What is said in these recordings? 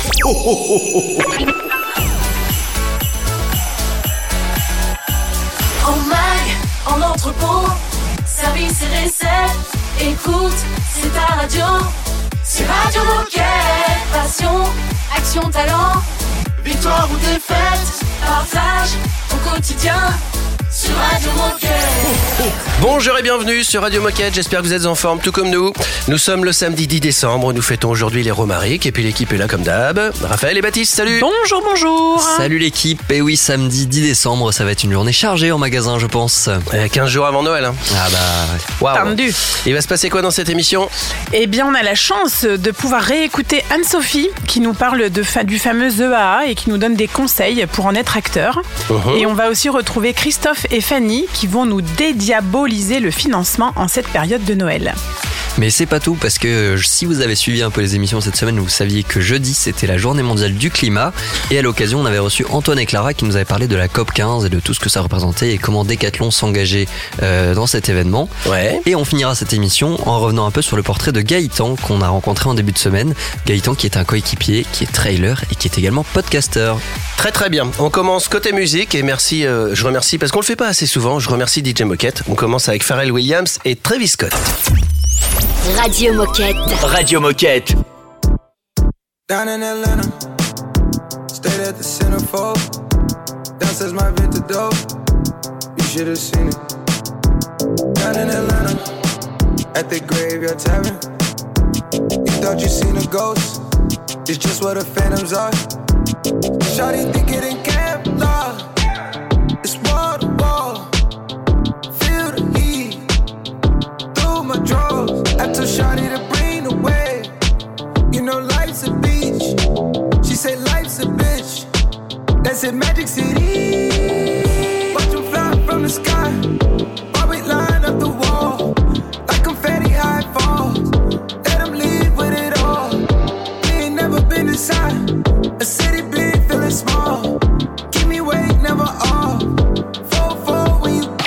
En mag, en entrepôt, service et recettes, écoute, c'est ta radio. C'est Radio Moquette. Passion, action, talent, victoire ou défaite, partage au quotidien sur Radio Moquette. Bonjour et bienvenue sur Radio Moquette, j'espère que vous êtes en forme tout comme nous. Nous sommes le samedi 10 décembre, nous fêtons aujourd'hui les Romaric et puis l'équipe est là comme d'hab. Raphaël et Baptiste, salut. Bonjour. Salut l'équipe, et oui, samedi 10 décembre, ça va être une journée chargée en magasin je pense. 15 jours avant Noël. Ah bah... Waouh. Tendu. Il va se passer quoi dans cette émission ? Eh bien, on a la chance de pouvoir réécouter Anne-Sophie qui nous parle du fameux EAA et qui nous donne des conseils pour en être acteur. Et on va aussi retrouver Christophe et Fanny qui vont nous dédiaboliser le financement en cette période de Noël. Mais c'est pas tout, parce que si vous avez suivi un peu les émissions cette semaine, vous saviez que jeudi c'était la journée mondiale du climat, et à l'occasion on avait reçu Antoine et Clara qui nous avaient parlé de la COP15 et de tout ce que ça représentait et comment Decathlon s'engageait dans cet événement. Ouais. Et on finira cette émission en revenant un peu sur le portrait de Gaëtan qu'on a rencontré en début de semaine. Gaëtan qui est un coéquipier, qui est trailer et qui est également podcasteur. Très très bien, on commence côté musique et merci, je remercie, parce qu'on le fait pas assez souvent, je remercie DJ Moquette. On commence avec Pharrell Williams et Travis Scott. Radio Moquette. Radio Moquette. Down in Atlanta, stayed at the centerfold. Downstairs my vintage dope, you should have seen it. Down in Atlanta, at the Graveyard Tavern. You thought you seen a ghost, it's just what the phantoms are. Shawty think it in camp, nah. It's wall to wall, feel the heat through my drawers. I told Shawty to bring the wave. You know life's a beach. She said life's a bitch. That's in Magic City. Watch them fly from the sky. While we line up the wall like confetti high falls. Let them leave with it all. We ain't never been inside a city big, feeling small. Keep me awake, never off. 4-4 when you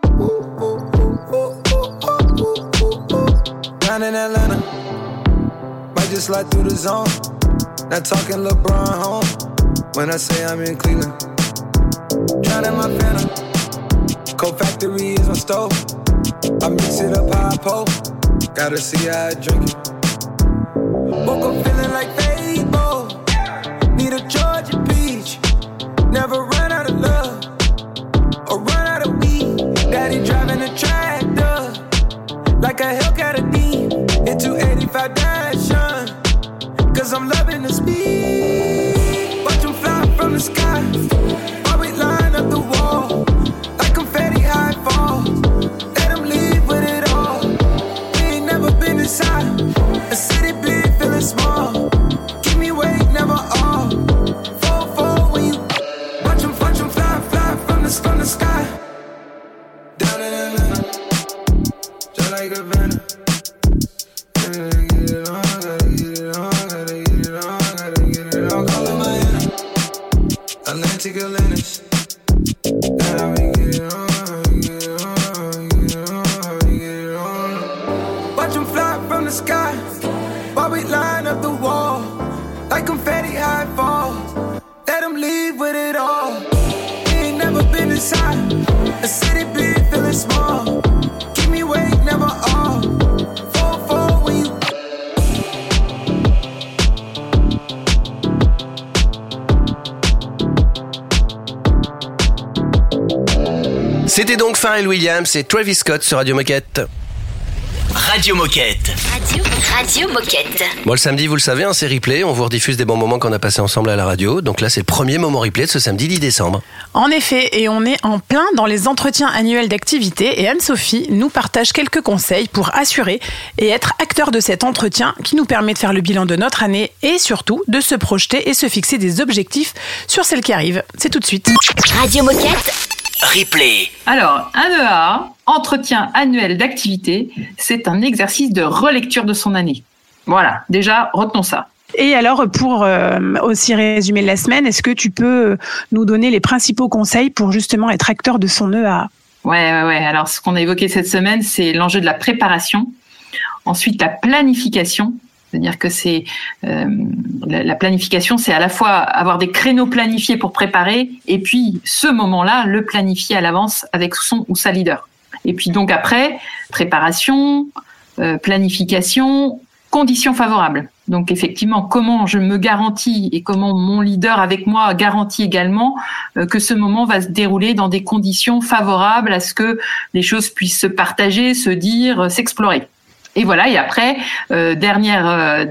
down in Atlanta, might just slide through the zone. Not talking LeBron home when I say I'm in Cleveland. Drowning my phantom, Coke Factory is my stove. I mix it up how I pull, gotta see how I drink it. Woke up feeling like Fable, need a Georgia peach. Never run out of love or run out of weed. Daddy driving a tractor like a Hellcat a Dean. Hit 285 Dashin', cause I'm loving the speed. Watch them fly from the sky, while we line up the wall like confetti high falls. Let them leave with it all. We ain't never been inside a city big, feeling small. Keep me awake, never off. 4-4 when you watch them fly from the sky. Down in Atlanta, just like a venom. Gotta get it on, gotta get it on, gotta get it on, gotta get it on. Call it Miami, Atlantic Atlantis. Now we get it on, we get it on, we get it on, we get it on. Watch them fly from the sky, while we line up the wall like confetti high falls. Let them leave with it all. We ain't never been inside a city big, feeling small. Keep me awake, never off. 4-4 when you. C'était donc Pharrell Williams et Travis Scott sur Radio Moquette. Radio Moquette. Radio Moquette. Bon, le samedi, vous le savez, c'est replay. On vous rediffuse des bons moments qu'on a passés ensemble à la radio. Donc là, c'est le premier moment replay de ce samedi 10 décembre. En effet, et on est en plein dans les entretiens annuels d'activité et Anne-Sophie nous partage quelques conseils pour assurer et être acteur de cet entretien qui nous permet de faire le bilan de notre année et surtout de se projeter et se fixer des objectifs sur celle qui arrive. C'est tout de suite. Radio Moquette. Replay. Alors, un EAA, entretien annuel d'activité, c'est un exercice de relecture de son année. Voilà, déjà, retenons ça. Et alors, pour aussi résumer la semaine, est-ce que tu peux nous donner les principaux conseils pour justement être acteur de son EAA ? Ouais. Alors, ce qu'on a évoqué cette semaine, c'est l'enjeu de la préparation, ensuite la planification C'est-à-dire que c'est la planification, c'est à la fois avoir des créneaux planifiés pour préparer, et puis ce moment-là, le planifier à l'avance avec son ou sa leader. Et puis donc après, préparation, planification, conditions favorables. Donc effectivement, comment je me garantis et comment mon leader avec moi garantit également que ce moment va se dérouler dans des conditions favorables à ce que les choses puissent se partager, se dire, s'explorer. Et voilà, et après, dernier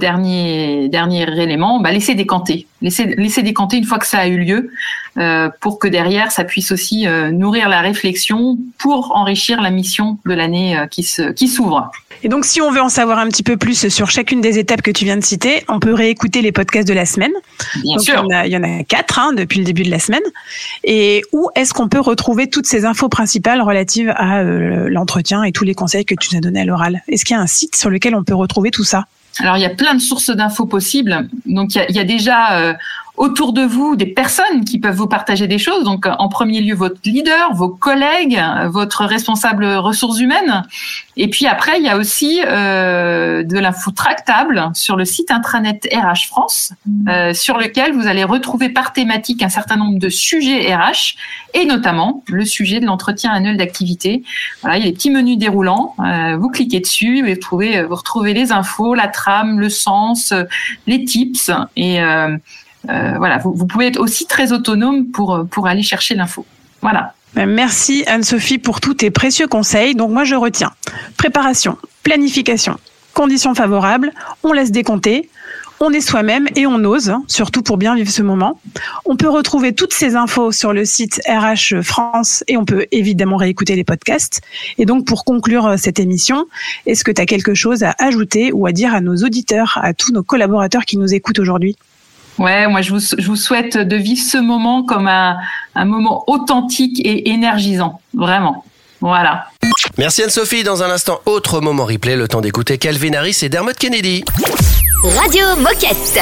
élément, laisser décanter. Laisser décanter une fois que ça a eu lieu, pour que derrière, ça puisse aussi nourrir la réflexion pour enrichir la mission de l'année qui s'ouvre. Et donc, si on veut en savoir un petit peu plus sur chacune des étapes que tu viens de citer, on peut réécouter les podcasts de la semaine. Bien donc, sûr. Il y en a 4 depuis le début de la semaine. Et où est-ce qu'on peut retrouver toutes ces infos principales relatives à l'entretien et tous les conseils que tu nous as donnés à l'oral? Est-ce qu'il y a un site sur lequel on peut retrouver tout ça? Alors, il y a plein de sources d'infos possibles. Donc, il y a déjà autour de vous des personnes qui peuvent vous partager des choses. Donc, en premier lieu, votre leader, vos collègues, votre responsable ressources humaines. Et puis après, il y a aussi de l'info tractable sur le site intranet RH France, sur lequel vous allez retrouver par thématique un certain nombre de sujets RH, et notamment le sujet de l'entretien annuel d'activité. Voilà, il y a des petits menus déroulants. Vous cliquez dessus et vous retrouvez les infos, la trame, le sens, les tips. Et voilà, vous pouvez être aussi très autonome pour aller chercher l'info. Voilà. Merci Anne-Sophie pour tous tes précieux conseils. Donc moi je retiens préparation, planification, conditions favorables, on laisse décompter, on est soi-même et on ose, surtout pour bien vivre ce moment. On peut retrouver toutes ces infos sur le site RH France et on peut évidemment réécouter les podcasts. Et donc pour conclure cette émission, est-ce que tu as quelque chose à ajouter ou à dire à nos auditeurs, à tous nos collaborateurs qui nous écoutent aujourd'hui ? Ouais, moi je vous souhaite de vivre ce moment comme un moment authentique et énergisant, vraiment. Voilà. Merci Anne-Sophie. Dans un instant, autre moment replay, le temps d'écouter Calvin Harris et Dermot Kennedy. Radio Moquette.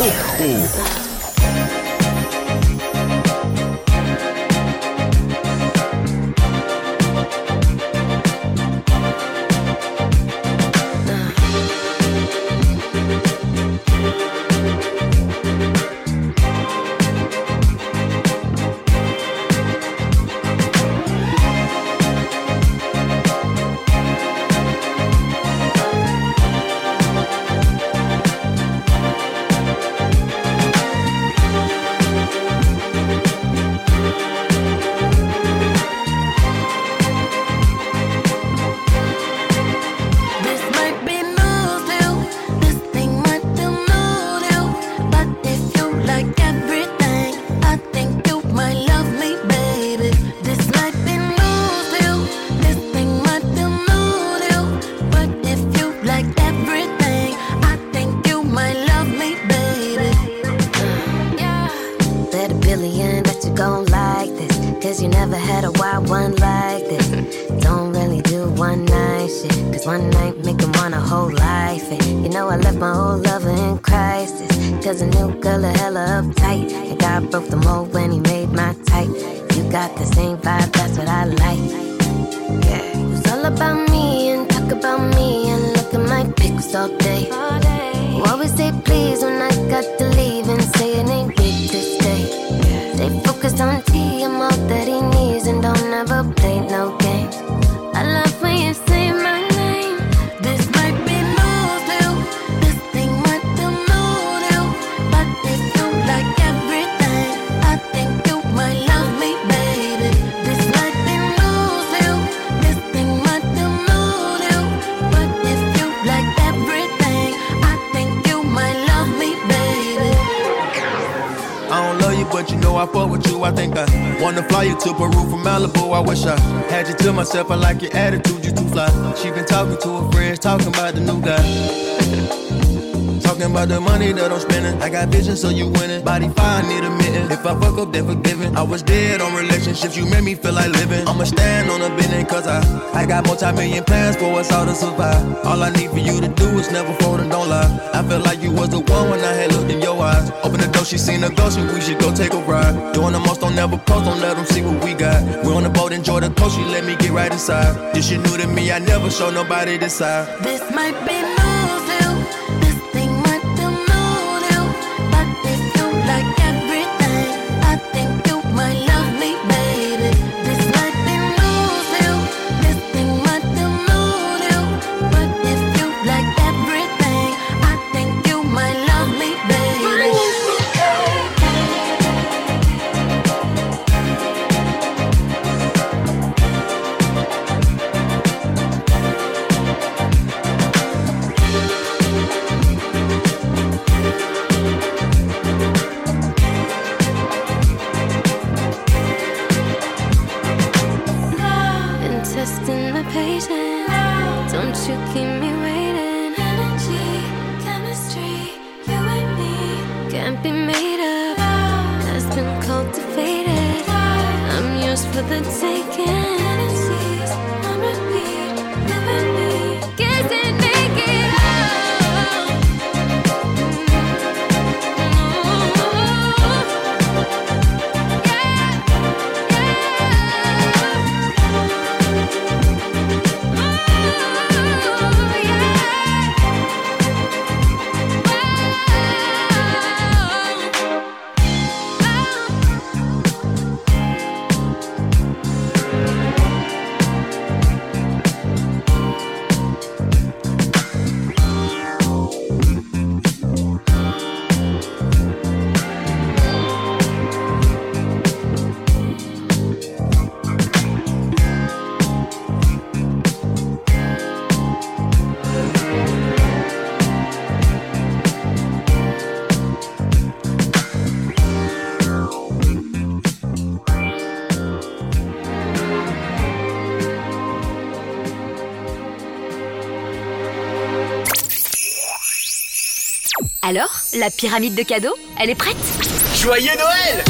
To Peru from Malibu, I wish I had you to myself. I like your attitude, you too fly. She been talking to her friends, talking about the new guy. Talking about the money that I'm spending. I got vision, so you winning. Body fine, need a mitten. If I fuck up, then forgiven. I was dead on relationships, you made me feel like living. I'ma stand on a business, cause I got multi-million plans for us all to survive. All I need for you to do is never fold and don't lie. I felt like you was the one when I had looked in your eyes. Open the door, she seen a ghost and we should go take a ride. Doing the most, don't never post, don't let them see what we got. We're on the boat, enjoy the coast, she let me get right inside. This shit new to me, I never show nobody this side. This might be new, this thing you keep me waiting. Energy, chemistry, you and me can't be made up. Has been cultivated. I'm yours for the taking. Fantasies on repeat, never me. Guess it make it Alors, la pyramide de cadeaux, elle est prête? Joyeux Noël!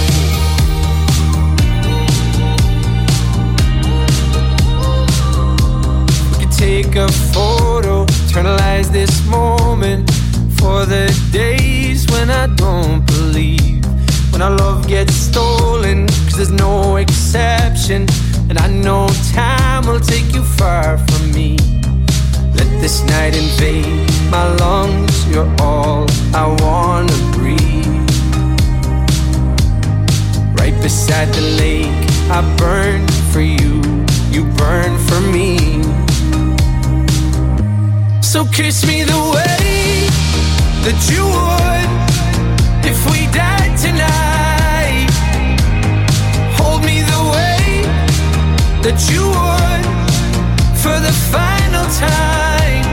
We could take a photo, eternalize this moment for the days when I don't believe, when our love gets stolen, 'cause there's no exception, and I know time will take you far from me. Let this night invade my lungs, you're all I wanna breathe. Right beside the lake, I burn for you, you burn for me. So kiss me the way that you would if we died tonight. Hold me the way that you would for the final time.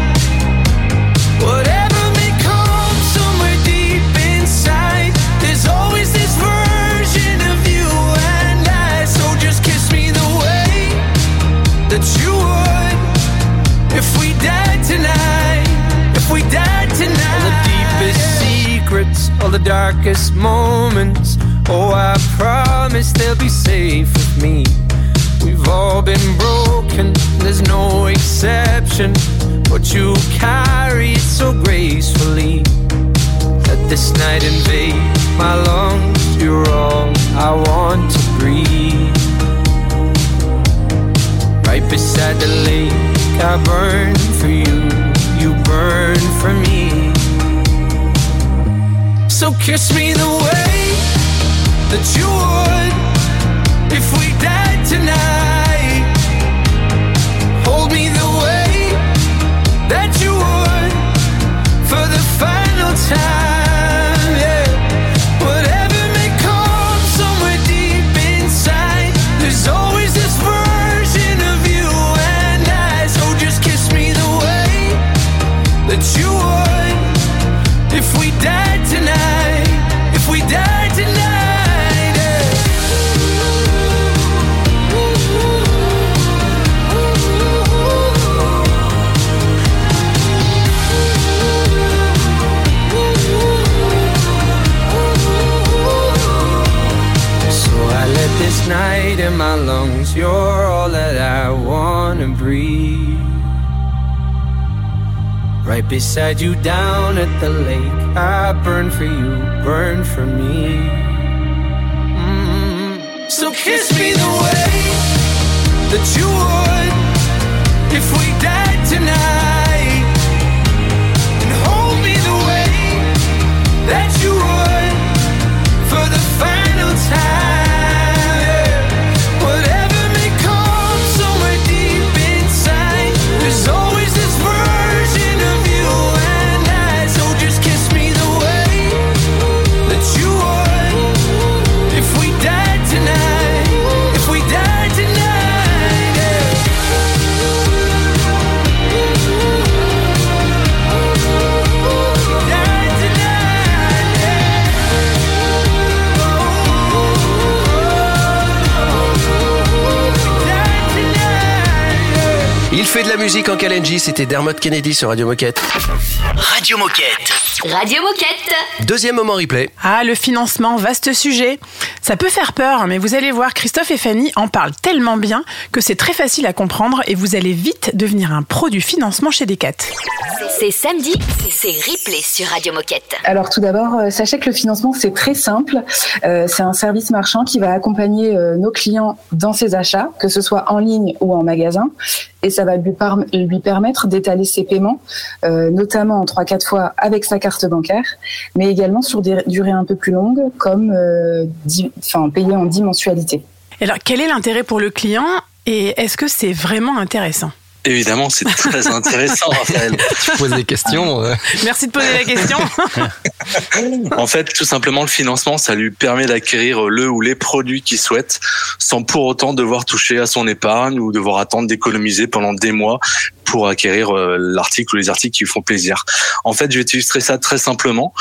Whatever may come somewhere deep inside, there's always this version of you and I. So just kiss me the way that you would if we died tonight. If we died tonight. All the deepest secrets, all the darkest moments, oh, I promise they'll be safe with me. We've all been broken, there's no exception, but you carry it so gracefully. Let this night invade my lungs, you're all I want to breathe. Right beside the lake, I burn for you, you burn for me. So kiss me the way that you would if we died tonight. Hold me the way that you would for the final time, yeah. Whatever may come somewhere deep inside, there's always this version of you and I. So just kiss me the way that you would if we died tonight. If we died tonight, yeah. This night in my lungs, you're all that I wanna breathe. Right beside you down at the lake, I burn for you, burn for me. So kiss me the way that you would if we died tonight, and hold me the way that you would for the final time. There's always this version of you and I. So just kiss me the way that you would if we died tonight. If we died tonight, yeah. Died tonight, fait de la musique en Kalenji, c'était Dermot Kennedy sur Radio Moquette. Radio Moquette. Radio Moquette. Deuxième moment replay. Ah, le financement, vaste sujet. Ça peut faire peur, mais vous allez voir, Christophe et Fanny en parlent tellement bien que c'est très facile à comprendre et vous allez vite devenir un pro du financement chez Decat. C'est samedi, c'est replay sur Radio Moquette. Alors tout d'abord, sachez que le financement, c'est très simple. C'est un service marchand qui va accompagner nos clients dans ses achats, que ce soit en ligne ou en magasin. Et ça va lui permettre d'étaler ses paiements, notamment en 3-4 fois avec sa carte bancaire, mais également sur des durées un peu plus longues, comme payer en 10 mensualités. Alors, quel est l'intérêt pour le client et est-ce que c'est vraiment intéressant ? Évidemment, c'est très intéressant, Raphaël. Tu poses des questions. Merci de poser la question. En fait, tout simplement, le financement, ça lui permet d'acquérir le ou les produits qu'il souhaite sans pour autant devoir toucher à son épargne ou devoir attendre d'économiser pendant des mois pour acquérir l'article ou les articles qui lui font plaisir. En fait, je vais t'illustrer ça très simplement.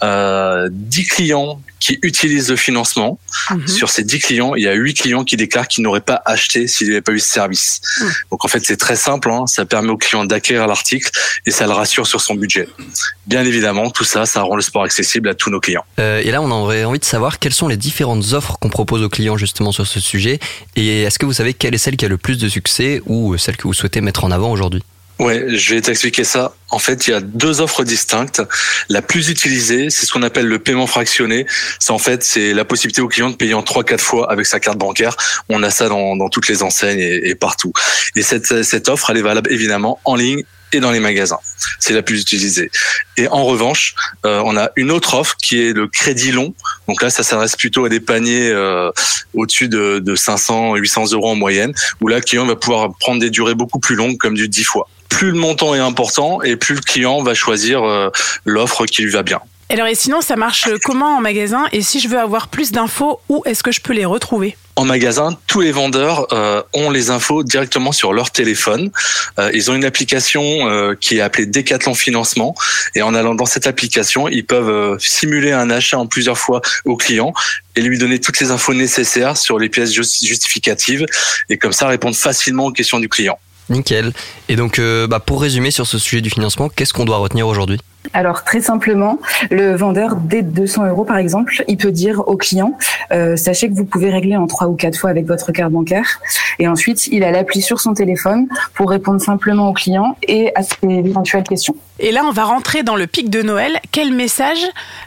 10 clients qui utilisent le financement. Sur ces 10 clients, il y a 8 clients qui déclarent qu'ils n'auraient pas acheté s'il n'y avait pas eu ce service. Donc en fait, c'est très simple, hein. Ça permet au client d'acquérir l'article et ça le rassure sur son budget. Bien évidemment, tout ça, ça rend le sport accessible à tous nos clients. Et là, on aurait envie de savoir quelles sont les différentes offres qu'on propose aux clients justement sur ce sujet. Et est-ce que vous savez quelle est celle qui a le plus de succès ou celle que vous souhaitez mettre en avant aujourd'hui ? Ouais, je vais t'expliquer ça. En fait, il y a 2 offres distinctes. La plus utilisée, c'est ce qu'on appelle le paiement fractionné. C'est la possibilité au client de payer en 3-4 fois avec sa carte bancaire. On a ça dans toutes les enseignes et partout. Et cette offre, elle est valable évidemment en ligne et dans les magasins. C'est la plus utilisée. Et en revanche, on a une autre offre qui est le crédit long. Donc là, ça s'adresse plutôt à des paniers au-dessus de 500, 800 euros en moyenne, où là, le client va pouvoir prendre des durées beaucoup plus longues, comme du 10 fois. Plus le montant est important et plus le client va choisir l'offre qui lui va bien. Alors et sinon, ça marche comment en magasin ? Et si je veux avoir plus d'infos, où est-ce que je peux les retrouver ? En magasin, tous les vendeurs ont les infos directement sur leur téléphone. Ils ont une application qui est appelée Decathlon Financement. Et en allant dans cette application, ils peuvent simuler un achat en plusieurs fois au client et lui donner toutes les infos nécessaires sur les pièces justificatives. Et comme ça, répondre facilement aux questions du client. Nickel. Et donc, pour résumer sur ce sujet du financement, qu'est-ce qu'on doit retenir aujourd'hui ? Alors très simplement, le vendeur dès 200 euros par exemple, il peut dire au client sachez que vous pouvez régler en 3 ou 4 fois avec votre carte bancaire. Et ensuite, il a l'appli sur son téléphone pour répondre simplement au client et à ses éventuelles questions. Et là, on va rentrer dans le pic de Noël. Quel message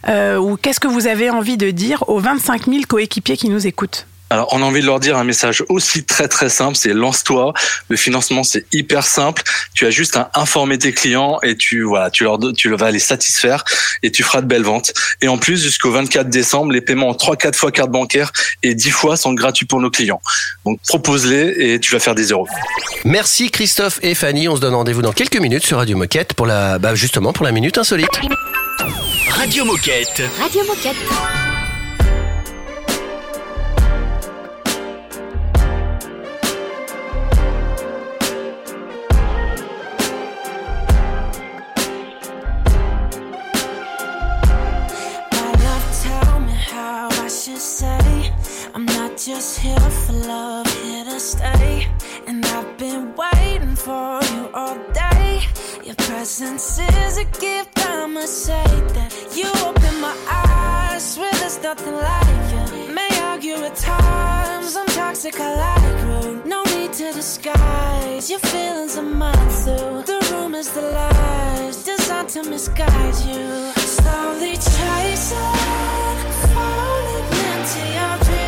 ou qu'est-ce que vous avez envie de dire aux 25 000 coéquipiers qui nous écoutent ? Alors, on a envie de leur dire un message aussi très très simple, c'est lance-toi. Le financement, c'est hyper simple. Tu as juste à informer tes clients et tu vas les satisfaire et tu feras de belles ventes. Et en plus, jusqu'au 24 décembre, les paiements en 3-4 fois carte bancaire et 10 fois sont gratuits pour nos clients. Donc, propose-les et tu vas faire des euros. Merci Christophe et Fanny. On se donne rendez-vous dans quelques minutes sur Radio Moquette pour la Minute Insolite. Radio Moquette. Radio Moquette. Just here for love, here to stay. And I've been waiting for you all day. Your presence is a gift, I must say that. You open my eyes, swear there's nothing like you. May argue at times, I'm toxic, I like rude. No need to disguise, your feelings are mine too. The rumors, the lies, designed to misguide you. Slowly chasing, falling into your dreams.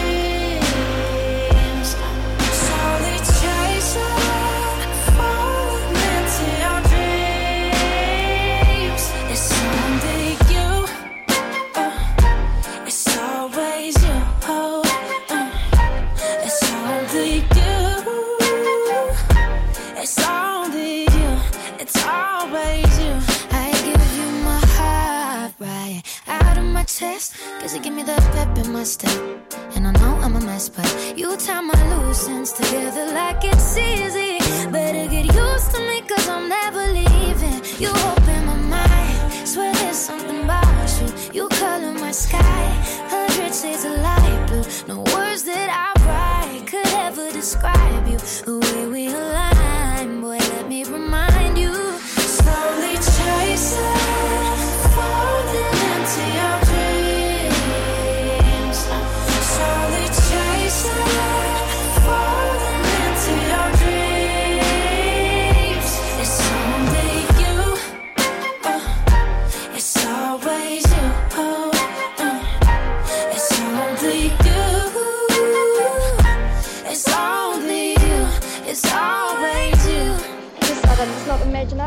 Cause you give me that pep in my step. And I know I'm a mess, but you tie my loose ends together like it's easy. Better get used to me cause I'm never leaving. You open my mind, swear there's something about you. You color my sky, 100 shades of light blue. No words that I write could ever describe you. The way we align, boy, let me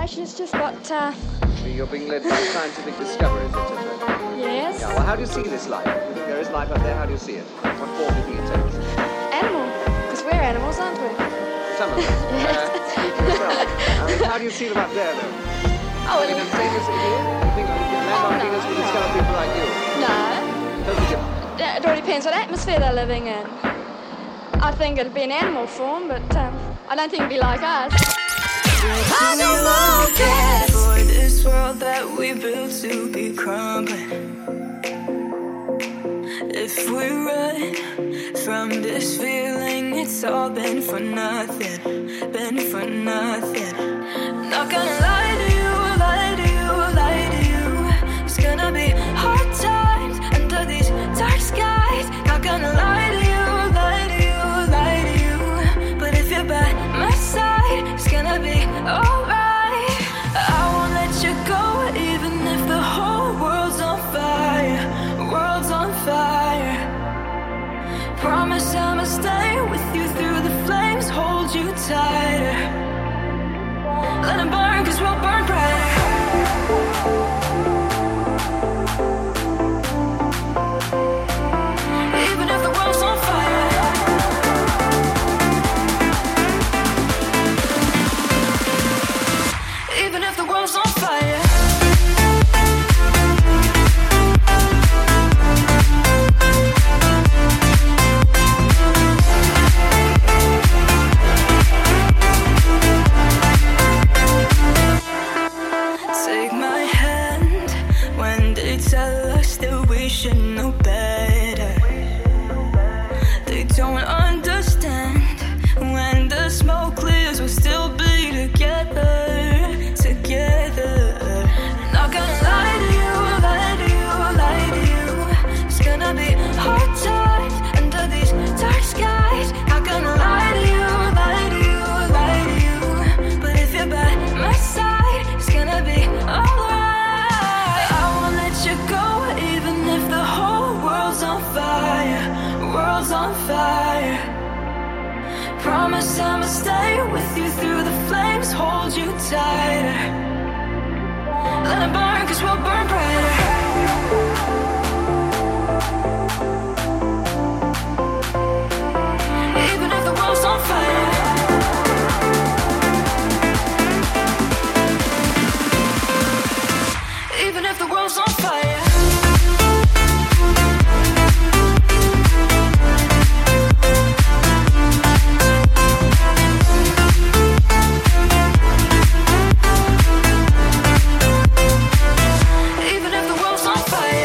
congratulations, just got. You're being led by scientific discoveries, etc. Yes. Yeah, well, how do you see this life? If there is life up there, how do you see it? What form do you think it takes? Animal, because we're animals, aren't we? Some of them. Speak for yourself. I mean, how do you see them up there, though? Oh, I mean, the same as here? You think land on Venus will discover people like you? No. Totally different. It all depends what atmosphere they're living in. I think it'd be an animal form, but I don't think it'd be like us. For this world that we built to be crumbling, if we run from this feeling, it's all been for nothing, been for nothing. Not gonna lie to you, lie to you, lie to you. It's gonna be hard times under these dark skies. Not gonna lie to you, lie to you, lie to you. But if you're by my side, it's gonna be alright. I won't let you go, even if the whole world's on fire, world's on fire. Promise I'ma stay with you through the flames, hold you tighter. Let them burn, cause we'll burn brighter. Even if the world's on fire. Even if the world's on fire. Take my hand when they tell us that we should know better. They don't understand when the smoke clears, we'll still be together, together. Not gonna lie to you, lie to you, lie to you. It's gonna be hard times under these dark skies. Not gonna lie to you, lie to you, lie to you. But if you're by my side, it's gonna be alright. I won't let you go, even if the whole world's on fire, world's on fire. Promise I'ma stay with you through the flames, hold you tighter. Let it burn, cause we'll burn brighter. Even if the world's on fire. Even if the world's on fire. Even if the world's on fire.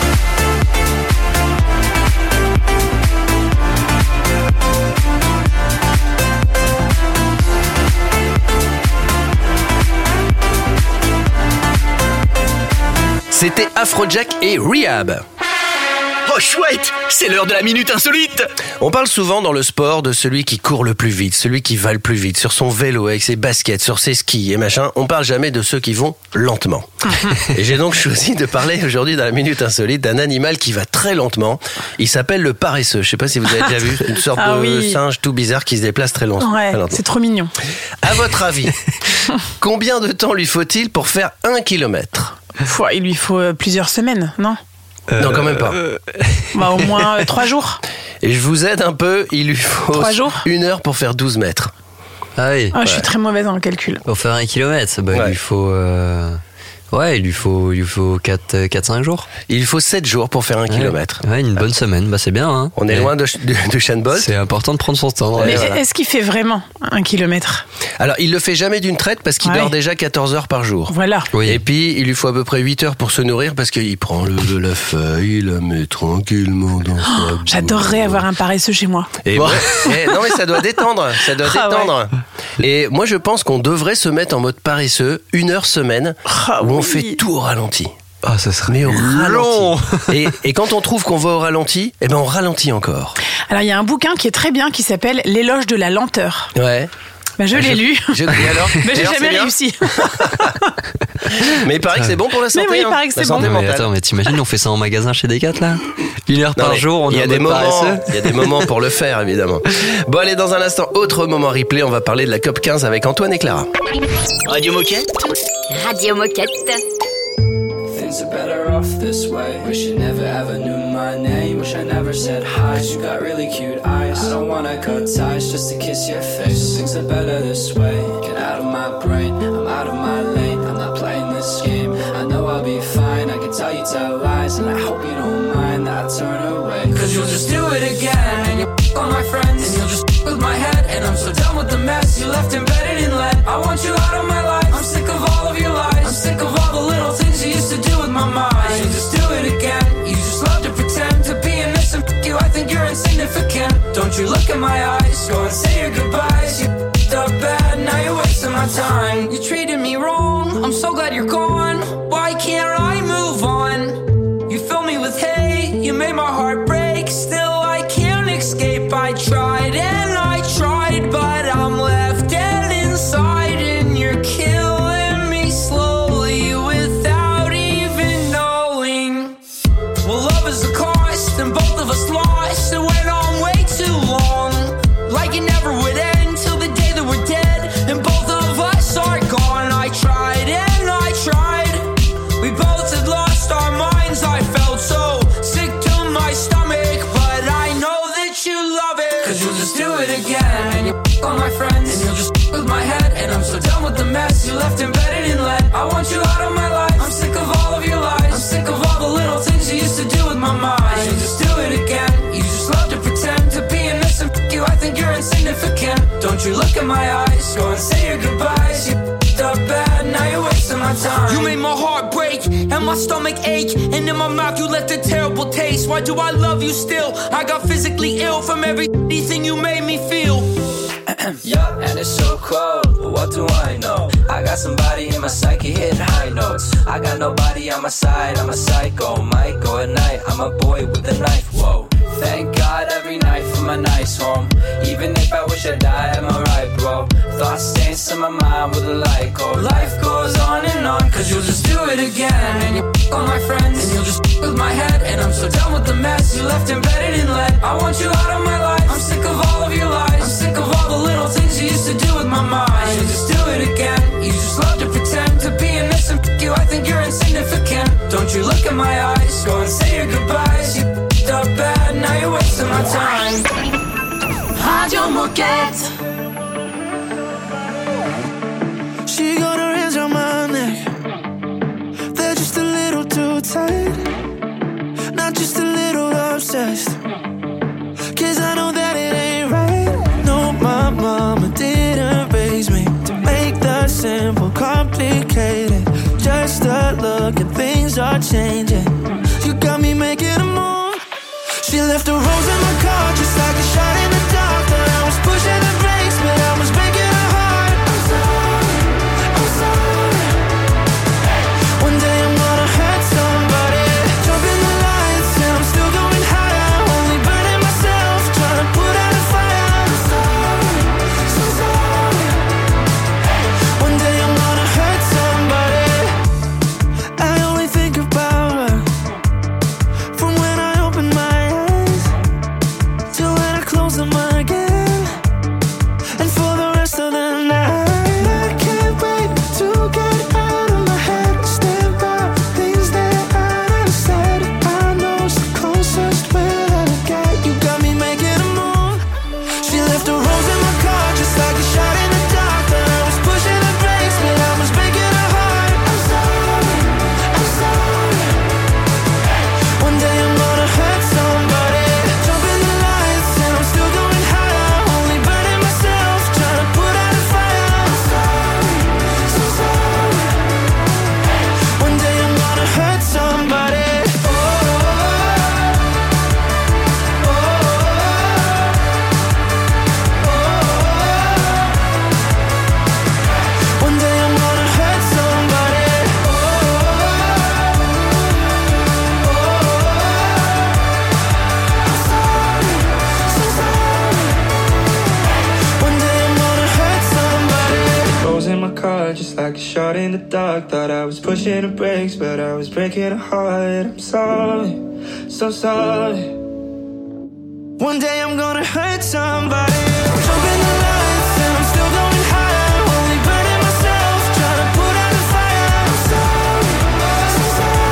C'était Afrojack et Rehab. Oh chouette, c'est l'heure de la minute insolite. On parle souvent dans le sport de celui qui court le plus vite, celui qui va le plus vite, sur son vélo, avec ses baskets, sur ses skis et machin. On parle jamais de ceux qui vont lentement. Et j'ai donc choisi de parler aujourd'hui dans la minute insolite d'un animal qui va très lentement. Il s'appelle le paresseux. Je sais pas si vous avez déjà vu, une sorte de singe tout bizarre qui se déplace très lentement. Ouais, c'est trop mignon. À votre avis, combien de temps lui faut-il pour faire 1 kilomètre ? Il lui faut plusieurs semaines, non ? Non, quand même pas. Au moins 3 jours. Et je vous aide un peu, il lui faut 3 jours 1 heure pour faire 12 mètres. Ah oui. Je suis très mauvaise en calcul. Pour faire 1 kilomètre, il lui faut... il lui faut 4-5 jours. Il faut 7 jours pour faire 1 kilomètre. Ouais, une bonne semaine, c'est bien. Hein. On est loin de Usain Bolt. C'est important de prendre son temps. Mais est-ce qu'il fait vraiment 1 kilomètre ? Alors, il le fait jamais d'une traite parce qu'il dort déjà 14 heures par jour. Voilà. Oui. Et puis, il lui faut à peu près 8 heures pour se nourrir parce qu'il prend la feuille, il la met tranquillement dans sa bouche. J'adorerais avoir un paresseux chez moi. Et non, mais ça doit détendre. Ça doit détendre. Ouais. Et moi, je pense qu'on devrait se mettre en mode paresseux 1 heure semaine où on fait tout au ralenti. Ah, ça serait mais au ralenti. Et quand on trouve qu'on va au ralenti, on ralentit encore. Alors, il y a un bouquin qui est très bien qui s'appelle L'éloge de la lenteur. Ouais. Bah, je l'ai lu. Et alors Mais j'ai Alors, jamais c'est bien réussi. Mais il paraît que c'est bon pour la santé. Mais oui, il hein, paraît que la c'est santé bon. Mais mentale. attends, mais t'imagines, on fait ça en magasin chez Decat là 1 heure Non, par mais jour, on il y est a en des mode paresseux. moments, il y a des moments pour le faire évidemment. Bon allez, dans un instant, autre moment replay, on va parler de la COP 15 avec Antoine et Clara. Radio Moquette. Radio Moquette. Things are better off this way. Wish you never ever knew my name. Wish I never said hi. You got really cute eyes. I don't wanna cut ties just to kiss your face. Things are better this way. Get out of my brain. I'm out of my lane. I'm not playing this game. I know I'll be fine. I can tell you tell lies, and I hope you don't mind that I turn away. Cause you'll just do it again, and you'll on my friends, and you'll just with my head. And I'm so done with the mess you left embedded in lead. I want you out of my life. I'm sick of all of your lies. I'm sick of all the little things you used to do with my mind. You just do it again. You just love to pretend to be innocent. You, I think you're insignificant. Don't you look in my eyes. Go and say your goodbyes. You up bad. Now you're wasting my time. You treated me wrong. I'm so glad you're gone. Why can't I move on? You fill me with hate. You made my heart break. Still I can't escape. I tried and I tried, but I'm left dead inside, and you're killing me slowly without even knowing. Well, love is the cost, and both of us lost. It went on way too long, like it never would end till the day that we're dead, and both of us are gone. I tried and I tried. We both had lost our minds. I felt so sick to my stomach, but I know that you love it. Cause you'll just do it again, and you on my friends, and you'll just with my head. And I'm so done with the mess you left embedded in lead. I want you out of my life. I'm sick of all of your lies. I'm sick of all the little things you used to do with my mind. You'll just do it again. You just love to pretend to be innocent. You, I think you're insignificant. Don't you look in my eyes. Go and say your goodbyes. You up bad. Now you're wasting my time. You made my heart break and my stomach ache, and in my mouth you left a terrible taste. Why do I love you still? I got physically ill from everything you made me feel. Yeah, and it's so cold, but what do I know? I got somebody in my psyche hitting high notes. I got nobody on my side, I'm a psycho. Might go at night, I'm a boy with a knife, whoa. Thank God every night for my nice home. Even if I wish I died, am I right, bro? Thoughts dance in my mind with a light go. Life goes on and on, cause you'll just do it again. And you on my friends, and you'll just with my head. And I'm so done with the mess you left embedded in lead. I want you out of my life. I'm sick of all of your lies. I'm sick of all the little things you used to do with my mind. You'll just do it again. You just love to pretend to be innocent. You, I think you're insignificant. Don't you look in my eyes. Go and say your goodbyes. You up bad, now you're wasting my time. Radio Moquette. She got her hands on my neck. They're just a little too tight. Not just a little obsessed. Cause I know that it ain't right. No, my mama didn't raise me to make the simple complicated. Just a look and things are changing. You got me making a move. She left a rose in my car just like a shot in the dark. But I was pushing the brakes, but I was breaking her heart. I'm sorry, I'm sorry. One day I'm gonna hurt somebody. Jump in the lights and I'm still going higher. Only burning myself, trying to put out a fire. I'm sorry, so sorry. One day I'm gonna hurt somebody. I only think about her from when I open my eyes till when I close It's like a shot in the dark. Thought I was pushing the brakes, but I was breaking a heart. I'm sorry, so sorry. One day I'm gonna hurt somebody. I'm jumping the lights and I'm still going high. Only burning myself, trying to put out the fire. I'm sorry, so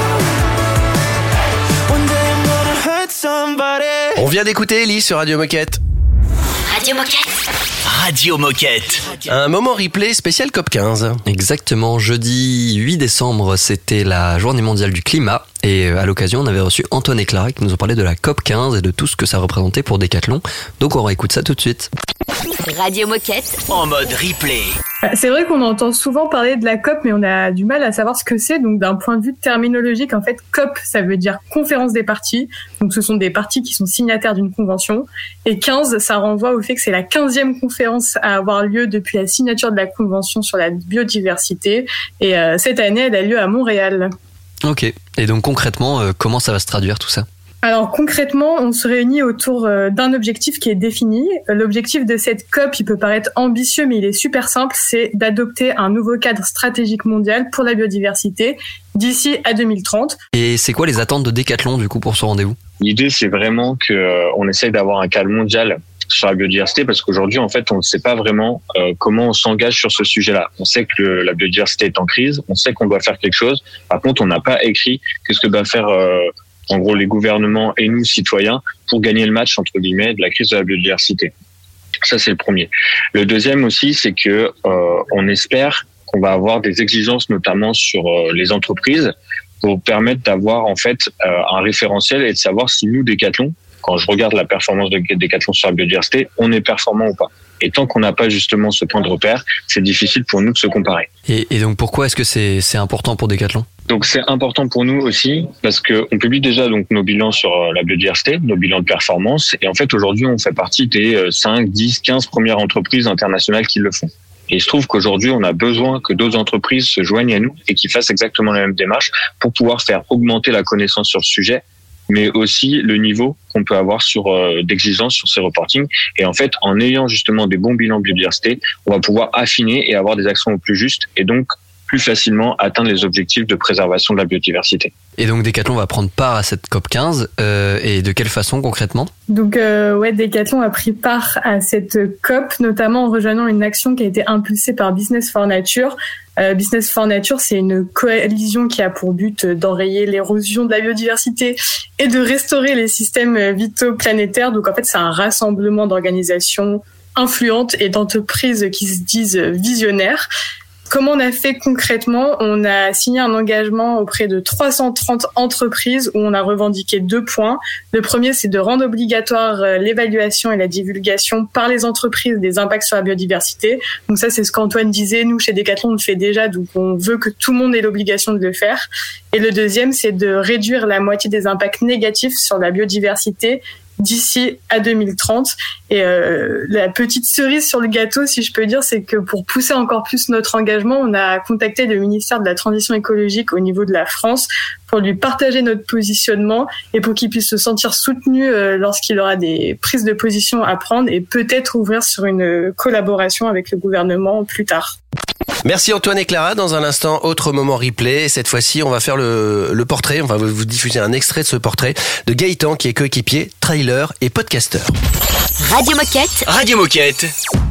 sorry. One day I'm gonna hurt somebody. On vient d'écouter Ellie sur Radio Moquette. Radio Moquette. Radio Moquette. Un moment replay spécial COP15. Exactement, jeudi 8 décembre, c'était la journée mondiale du climat. Et à l'occasion, on avait reçu Antoine et Clara qui nous ont parlé de la COP15 et de tout ce que ça représentait pour Decathlon. Donc on réécoute ça tout de suite. Radio Moquette. En mode replay. C'est vrai qu'on entend souvent parler de la COP, mais on a du mal à savoir ce que c'est. Donc d'un point de vue terminologique, en fait, COP, ça veut dire conférence des parties. Donc ce sont des parties qui sont signataires d'une convention. Et 15, ça renvoie au fait que c'est la 15e conférence à avoir lieu depuis la signature de la convention sur la biodiversité. Et cette année, elle a lieu à Montréal. Ok, et donc concrètement, comment ça va se traduire tout ça ? Alors concrètement, on se réunit autour d'un objectif qui est défini. L'objectif de cette COP, il peut paraître ambitieux, mais il est super simple, c'est d'adopter un nouveau cadre stratégique mondial pour la biodiversité d'ici à 2030. Et c'est quoi les attentes de Decathlon du coup pour ce rendez-vous ? L'idée, c'est vraiment qu'on essaye d'avoir un cadre mondial sur la biodiversité, parce qu'aujourd'hui, en fait, on ne sait pas vraiment comment on s'engage sur ce sujet-là. On sait que la biodiversité est en crise, on sait qu'on doit faire quelque chose. Par contre, on n'a pas écrit qu'est-ce que doivent faire en gros les gouvernements et nous, citoyens, pour gagner le match, entre guillemets, de la crise de la biodiversité. Ça, c'est le premier. Le deuxième aussi, c'est que on espère qu'on va avoir des exigences, notamment sur les entreprises, pour permettre d'avoir en fait un référentiel et de savoir si nous, Decathlon, quand je regarde la performance de Decathlon sur la biodiversité, on est performant ou pas. Et tant qu'on n'a pas justement ce point de repère, c'est difficile pour nous de se comparer. Et donc pourquoi est-ce que c'est important pour Decathlon ? Donc c'est important pour nous aussi parce que on publie déjà donc nos bilans sur la biodiversité, nos bilans de performance. Et en fait aujourd'hui on fait partie des 5, 10, 15 premières entreprises internationales qui le font. Et il se trouve qu'aujourd'hui, on a besoin que d'autres entreprises se joignent à nous et qu'ils fassent exactement la même démarche pour pouvoir faire augmenter la connaissance sur le sujet, mais aussi le niveau qu'on peut avoir d'exigence sur ces reportings. Et en fait, en ayant justement des bons bilans biodiversité, on va pouvoir affiner et avoir des actions au plus juste et donc plus facilement atteindre les objectifs de préservation de la biodiversité. Et donc Decathlon va prendre part à cette COP15 et de quelle façon concrètement ? Donc Decathlon a pris part à cette COP, notamment en rejoignant une action qui a été impulsée par Business for Nature. Business for Nature, c'est une coalition qui a pour but d'enrayer l'érosion de la biodiversité et de restaurer les systèmes vitaux planétaires. Donc en fait, c'est un rassemblement d'organisations influentes et d'entreprises qui se disent visionnaires. Comment on a fait concrètement ? On a signé un engagement auprès de 330 entreprises où on a revendiqué 2 points. Le premier, c'est de rendre obligatoire l'évaluation et la divulgation par les entreprises des impacts sur la biodiversité. Donc ça, c'est ce qu'Antoine disait. Nous, chez Decathlon, on le fait déjà, donc on veut que tout le monde ait l'obligation de le faire. Et le deuxième, c'est de réduire la moitié des impacts négatifs sur la biodiversité d'ici à 2030. Et la petite cerise sur le gâteau, si je peux dire, c'est que pour pousser encore plus notre engagement, on a contacté le ministère de la Transition écologique au niveau de la France pour lui partager notre positionnement et pour qu'il puisse se sentir soutenu lorsqu'il aura des prises de position à prendre et peut-être ouvrir sur une collaboration avec le gouvernement plus tard. Merci Antoine et Clara. Dans un instant, autre moment replay. Cette fois-ci, on va faire le portrait. On va vous diffuser un extrait de ce portrait de Gaëtan, qui est coéquipier, trailer et podcasteur. Radio Moquette. Radio Moquette.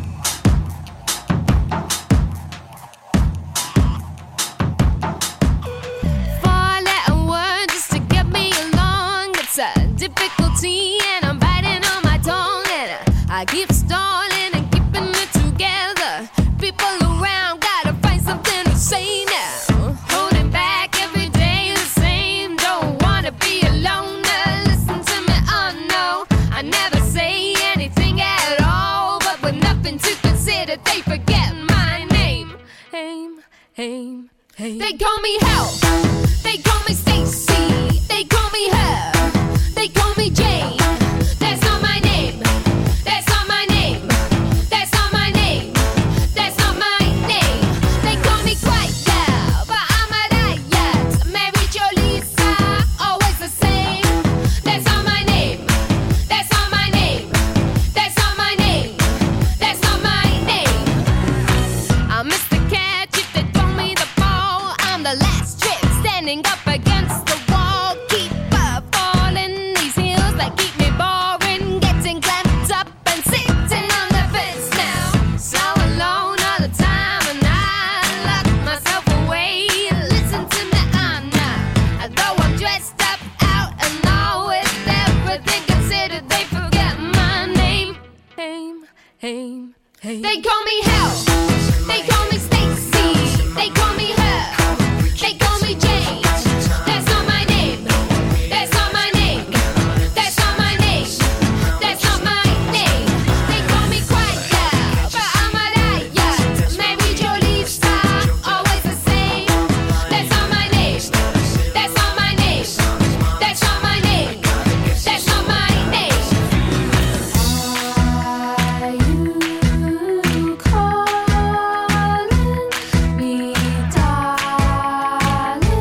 I keep stalling and keeping it together. People around gotta find something to say now. Holding back every day the same. Don't wanna be alone. Listen to me, oh no. I never say anything at all, but with nothing to consider, they forget my name. They call me Help. They call me Stacy. They call me Her. They call me Jane. That's not my name. That They call me Hell. They call me Stacy. They call me her. They call me Jane. That's not my name. That's not my name. That's not my name. That's not my name. They call me Quiet Girl, but I'm a riot. Maybe Jolie star, always the same. That's not my name. That's not my name. That's not my name. That's not my name. Are you calling me darling?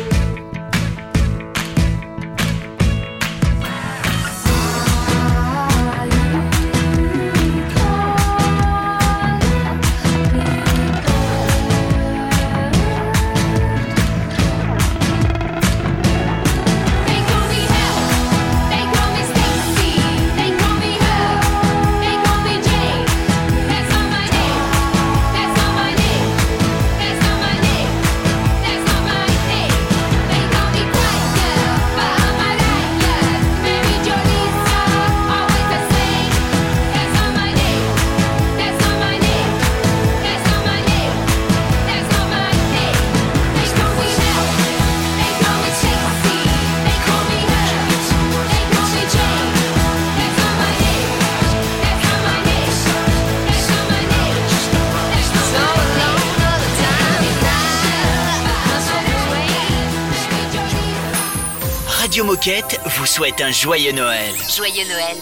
They call me Hell. They call me Stacy. They call me her. They call me Jane. That's not my name. That's not my name. That's not my name. That's not my name. They call me Quiet Girl, but I'm a riot. Maybe Jolie star, always the same. That's not my name. That's not my name. That's not my name. That's not my name. They call me Hell. They call me Stacy. They call me her. They call me Jane. That's not my name. That's not my name. That's not my name. That's not my name. All the time. Radio Moquette vous souhaite un joyeux Noël. Joyeux Noël.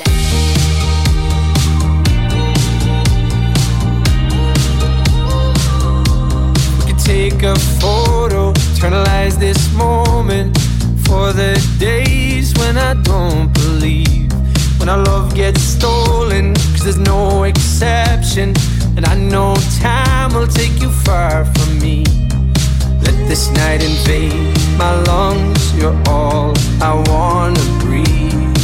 We could take a photo, eternalize this moment for the days when I don't believe, when our love gets stolen, 'cause there's no exception, and I know time will take you far from me. Let this night invade my lungs, you're all I wanna breathe.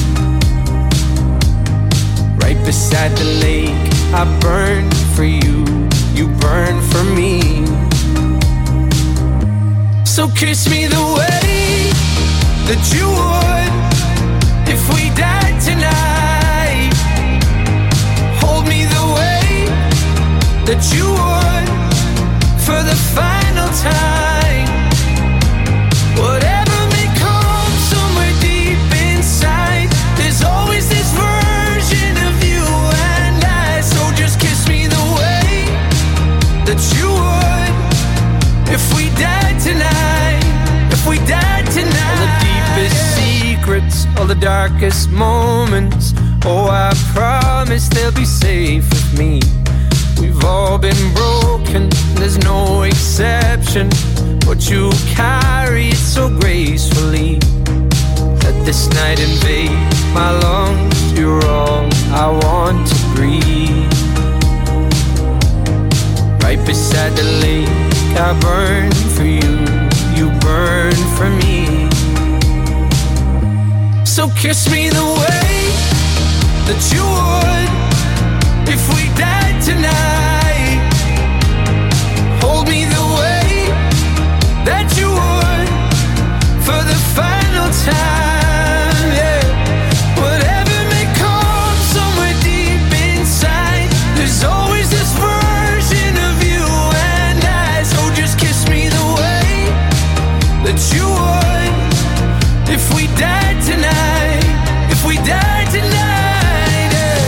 Right beside the lake, I burn for you, you burn for me. So kiss me the way that you would if we died tonight. Hold me the way that you would for the final time. Whatever may come somewhere deep inside, there's always this version of you and I. So just kiss me the way that you would if we died tonight. If we died tonight. All the deepest secrets, all the darkest moments, oh, I promise they'll be safe with me. We've all been broken, there's no exception, but you carry it so gracefully. Let this night invade my lungs, you're all I want to breathe. Right beside the lake, I burn for you, you burn for me. So kiss me the way that you would if we died tonight. Hold me the way that you would for the final time, yeah. Whatever may come somewhere deep inside, there's always this version of you and I. So just kiss me the way that you would if we died tonight. If we died tonight, yeah.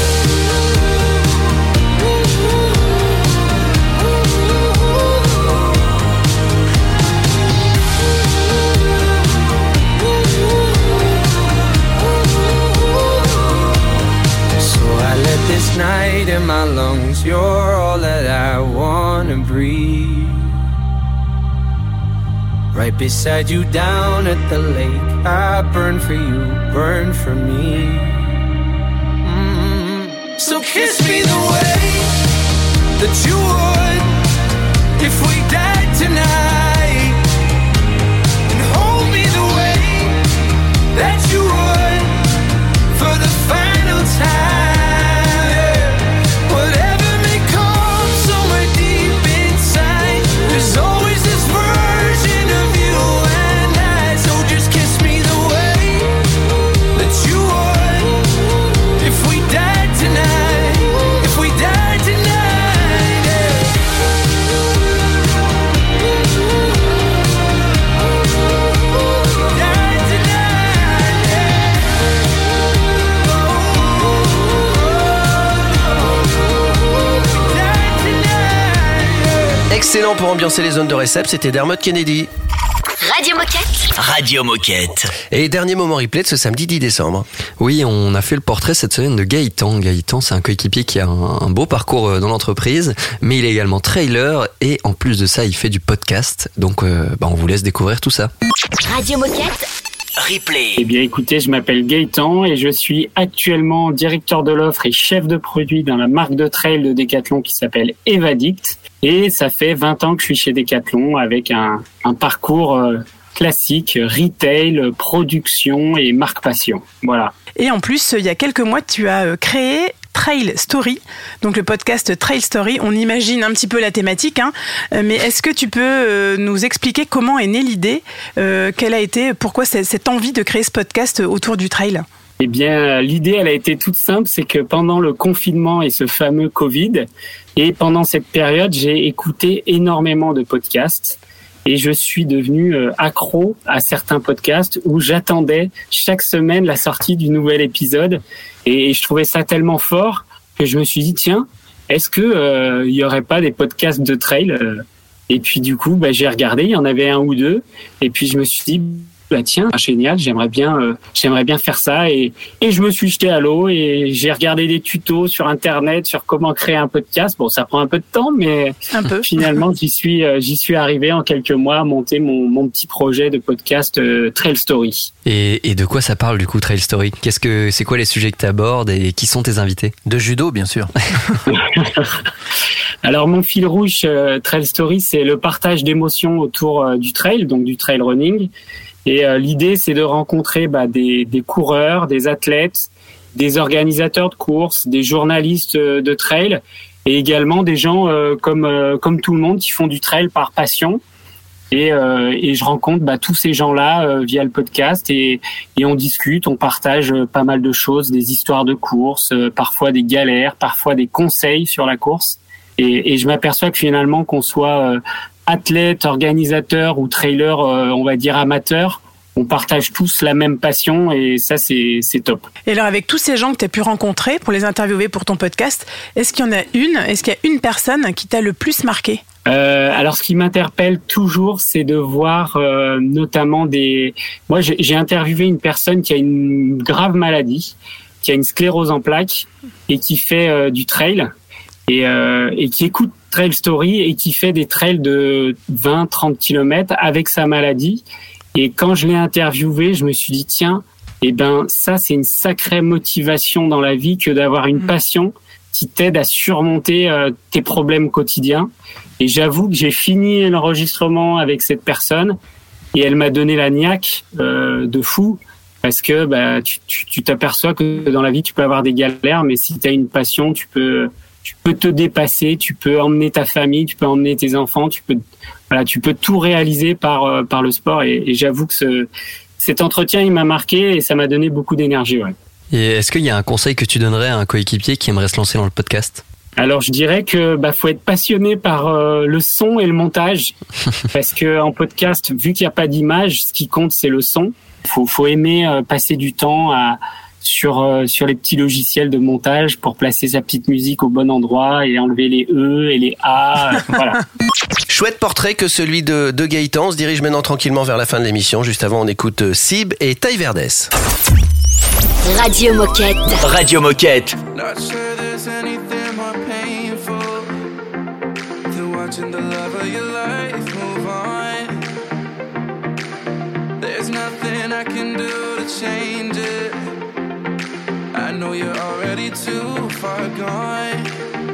This night in my lungs, you're all that I wanna breathe. Right beside you down at the lake, I burn for you, burn for me. So kiss me the way that you would if we died tonight, and hold me the way that you would for the final time. There's always this version of you and I. So just kiss me the way that you would if we died tonight. If we died tonight. Excellent pour ambiancer les zones de récep, c'était Dermot Kennedy. Radio Moquette. Radio Moquette. Et dernier moment replay de ce samedi 10 décembre. Oui, on a fait le portrait cette semaine de Gaëtan. Gaëtan, c'est un coéquipier qui a un beau parcours dans l'entreprise, mais il est également trailer et en plus de ça, il fait du podcast. Donc, on vous laisse découvrir tout ça. Radio Moquette. Replay. Eh bien, écoutez, je m'appelle Gaëtan et je suis actuellement directeur de l'offre et chef de produit dans la marque de trail de Decathlon qui s'appelle Evadict. Et ça fait 20 ans que je suis chez Decathlon avec un parcours classique, retail, production et marque passion. Voilà. Et en plus, il y a quelques mois, tu as créé Trail Story, donc le podcast Trail Story. On imagine un petit peu la thématique, mais est-ce que tu peux nous expliquer comment est née l'idée, quelle a été, pourquoi cette envie de créer ce podcast autour du trail ? Eh bien, l'idée, elle a été toute simple, c'est que pendant le confinement et ce fameux Covid, et pendant cette période, j'ai écouté énormément de podcasts et je suis devenu accro à certains podcasts où j'attendais chaque semaine la sortie du nouvel épisode et je trouvais ça tellement fort que je me suis dit, tiens, est-ce que il y aurait pas des podcasts de trail Et puis du coup, j'ai regardé, il y en avait un ou deux et puis je me suis dit, tiens, génial, j'aimerais bien faire ça et je me suis jeté à l'eau et j'ai regardé des tutos sur internet sur comment créer un podcast. Bon, ça prend un peu de temps, mais finalement j'y suis arrivé en quelques mois à monter mon petit projet de podcast Trail Story. Et de quoi ça parle du coup Trail Story ? C'est quoi les sujets que tu abordes et qui sont tes invités ? De judo, bien sûr. Alors mon fil rouge Trail Story, c'est le partage d'émotions autour du trail, donc du trail running. Et l'idée, c'est de rencontrer des coureurs, des athlètes, des organisateurs de courses, des journalistes de trail, et également des gens comme tout le monde qui font du trail par passion. Et je rencontre tous ces gens-là via le podcast et on discute, on partage pas mal de choses, des histoires de courses, parfois des galères, parfois des conseils sur la course. Et je m'aperçois que finalement, qu'on soit athlète, organisateur ou trailer, on va dire amateur, on partage tous la même passion et ça, c'est top. Et alors, avec tous ces gens que tu as pu rencontrer pour les interviewer pour ton podcast, est-ce qu'il y a une personne qui t'a le plus marqué ? Alors, ce qui m'interpelle toujours, c'est de voir notamment Moi, j'ai interviewé une personne qui a une grave maladie, qui a une sclérose en plaques et qui fait du trail et qui écoute Trail Story et qui fait des trails de 20-30 km avec sa maladie. Et quand je l'ai interviewé, je me suis dit, tiens, ça, c'est une sacrée motivation dans la vie que d'avoir une passion qui t'aide à surmonter tes problèmes quotidiens. Et j'avoue que j'ai fini l'enregistrement avec cette personne et elle m'a donné la niaque de fou parce que tu t'aperçois que dans la vie, tu peux avoir des galères, mais si tu as une passion, tu peux te dépasser, tu peux emmener ta famille, tu peux emmener tes enfants, tu peux tout réaliser par le sport. Et j'avoue que cet entretien, il m'a marqué et ça m'a donné beaucoup d'énergie. Ouais. Et est-ce qu'il y a un conseil que tu donnerais à un coéquipier qui aimerait se lancer dans le podcast ? Alors, je dirais que faut être passionné par le son et le montage, parce que en podcast, vu qu'il n'y a pas d'image, ce qui compte, c'est le son. Faut aimer passer du temps sur les petits logiciels de montage pour placer sa petite musique au bon endroit et enlever les E et les A. Voilà. Chouette portrait que celui de Gaëtan. On se dirige maintenant tranquillement vers la fin de l'émission. Juste avant, on écoute Sib et Taille Verdès. Radio Moquette. Radio Moquette. Not sure there's anything more painful than watching the love of your life move on. There's nothing I can do to change it. I know you're already too far gone.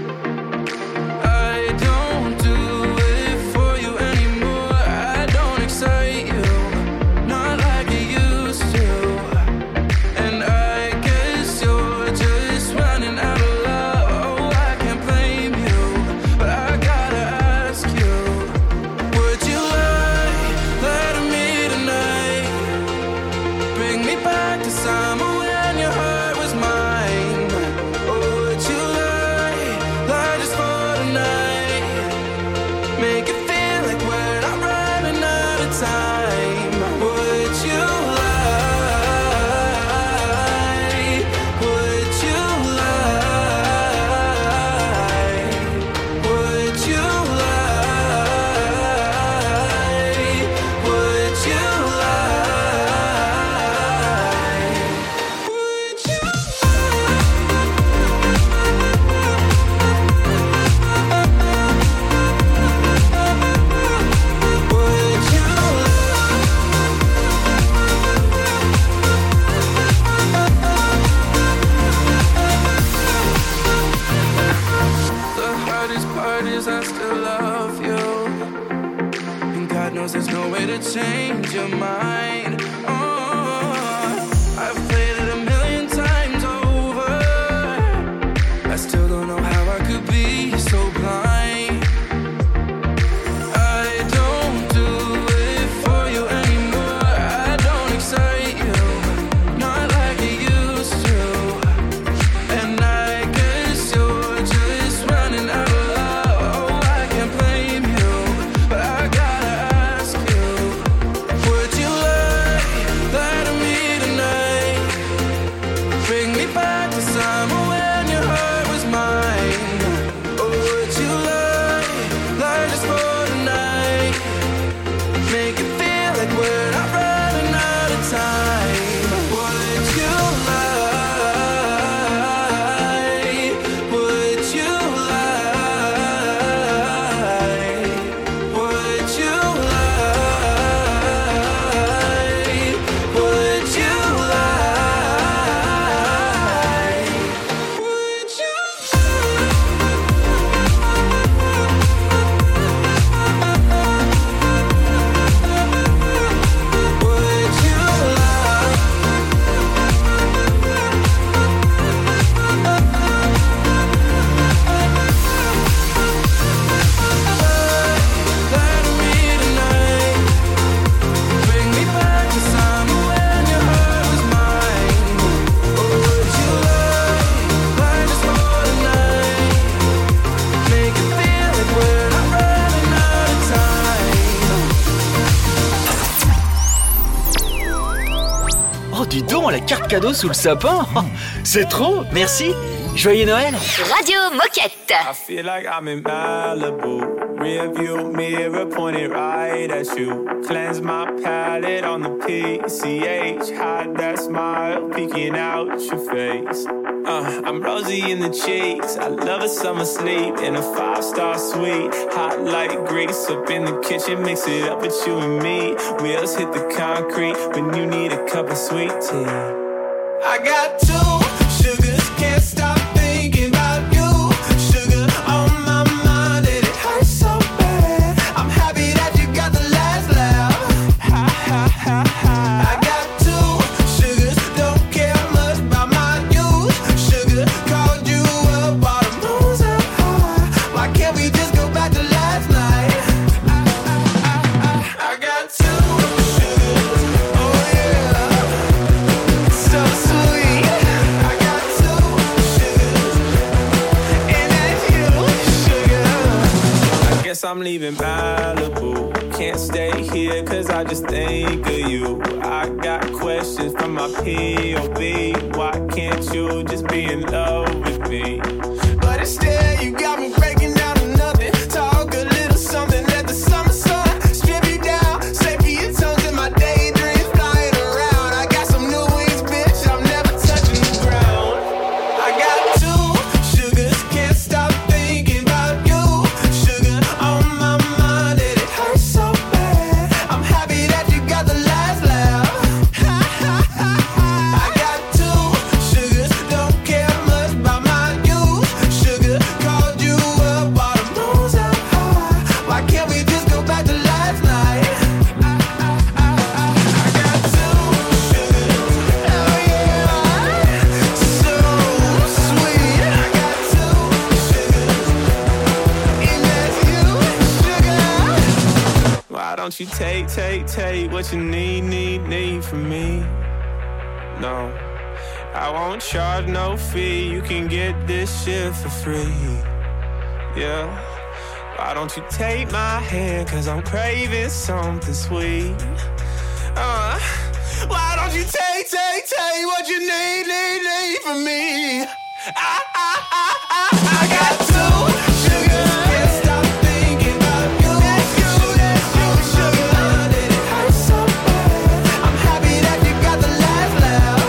I don't do it for you anymore. I don't excite you, not like I used to. And I guess you're just running out of love. Oh, I can't blame you, but I gotta ask you, would you lie to me tonight? Bring me back to summer when your heart was mine. Or would you lie way to change your mind. I've played it a million times over. I still don't know how I could be so blind. I don't do it for you anymore. I don't excite you, not like it used to. And I guess you're just running out of love. Oh, I can't blame you, but I gotta ask you, would you lie to me tonight? Bring me back to summer when your heart was mine. Or would you lie just for tonight? Make it feel like we're not running out of time. Would you lie? Would you lie? Would you lie? Would you lie? Would you? Would you lie? Lie to me tonight. Bring me back to summer when your heart was mine. Or would you lie just for tonight? Make it feel like we're not running out of time. Oh, dis donc, la carte cadeau sous le sapin. Oh, c'est trop, merci. Joyeux Noël. Radio Moquette. I feel like I'm in Malibu. Rear view mirror pointed right at you. Cleanse my palate on the PCH. Hide that smile peeking out your face. I'm rosy in the cheeks. I love a summer sleep in a 5-star suite. Hot like grease up in the kitchen. Mix it up with you and me. Wheels hit the concrete when you need a cup of sweet tea. I got 2 sugars, can't stop thinking about you. Sugar on my mind and it hurts so bad. I'm happy that you got the last laugh. Ha ha ha ha. I got 2 sugars, don't care much about my news. Sugar called you up while the moon's up high. Why can't we just go back to last night? I got 2 sugars, oh yeah, so sweet. I got 2 sugars, and that's you, sugar. I guess I'm leaving Malibu. Can't stay here cause I just think of you. I got questions from my POV. Why can't you just be in love with me? But instead you got me breaking down to nothing. Talk a little something, let the summer sun strip you down. Save me your tongues in my daydreams flying around. I got some new wings, bitch, I'm never touching the ground. I got 2 sugars, can't stop thinking about you. Sugar on my mind and it hurts so bad. I'm happy that you got the last laugh. Ha ha ha ha. I got 2 sugars, don't care much about my news. Sugar called you up while the moon's up high. Why can't we just go back to last night? I got 2 sugars, oh yeah, so sweet. I got 2 sugars, and that's you, sugar. Why don't you take what you need from me? No, I won't charge no fee. You can get this shit for free. Yeah. Why don't you take my hand? Cause I'm craving something sweet. Why don't you take what you need from me? I got 2 sugars, can't stop thinking about you. Sugar, and it hurts so bad. I'm happy that you got the last laugh.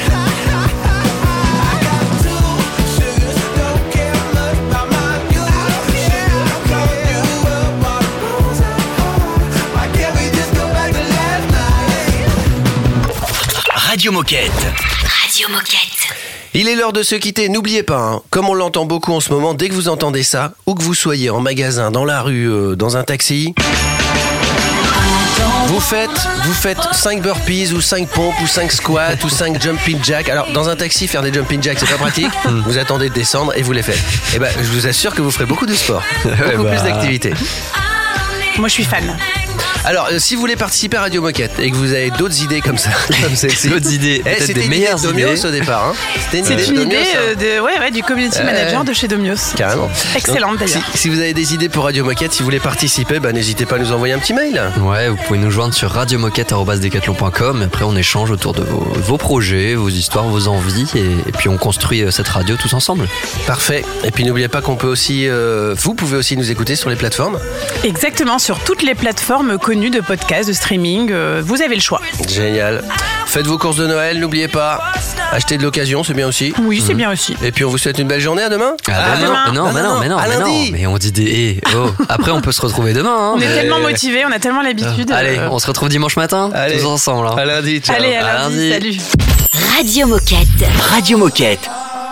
I got 2 sugars, don't care much about my news. Sugar called you up while the moon's up high. Why can't we just go back to last night? Radio Moquette. Radio Moquette. Il est l'heure de se quitter, n'oubliez pas, hein, comme on l'entend beaucoup en ce moment, dès que vous entendez ça, où que vous soyez, en magasin, dans la rue, dans un taxi... Vous faites 5 burpees ou 5 pompes ou 5 squats ou 5 jumping jacks. Alors dans un taxi faire des jumping jacks c'est pas pratique. Vous attendez de descendre et vous les faites. Et ben je vous assure que vous ferez beaucoup de sport, beaucoup plus d'activités. Moi je suis fan. Alors, si vous voulez participer à Radio Moquette et que vous avez d'autres idées comme ça, comme celle-ci, d'autres idées, peut-être c'était des meilleures idée de Domios idées au départ. Hein. C'est une idée du community manager de chez Domios. Carrément. Excellente d'ailleurs. Si vous avez des idées pour Radio Moquette, si vous voulez participer, n'hésitez pas à nous envoyer un petit mail. Ouais, vous pouvez nous joindre sur radiomoquette@decathlon.com. Après, on échange autour de vos projets, vos histoires, vos envies, et puis on construit cette radio tous ensemble. Parfait. Et puis n'oubliez pas qu'on peut aussi, vous pouvez aussi nous écouter sur les plateformes. Exactement, sur toutes les plateformes connues de podcasts, de streaming, vous avez le choix. Génial. Faites vos courses de Noël, n'oubliez pas. Achetez de l'occasion, c'est bien aussi. Oui, c'est bien aussi. Et puis on vous souhaite une belle journée, à demain. Non, mais on dit des Après on peut se retrouver demain. Hein. On est tellement motivés, on a tellement l'habitude. Allez, on se retrouve dimanche matin, tous ensemble. Hein. À lundi, ciao. Allez, à lundi, salut. Radio Moquette. Radio Moquette.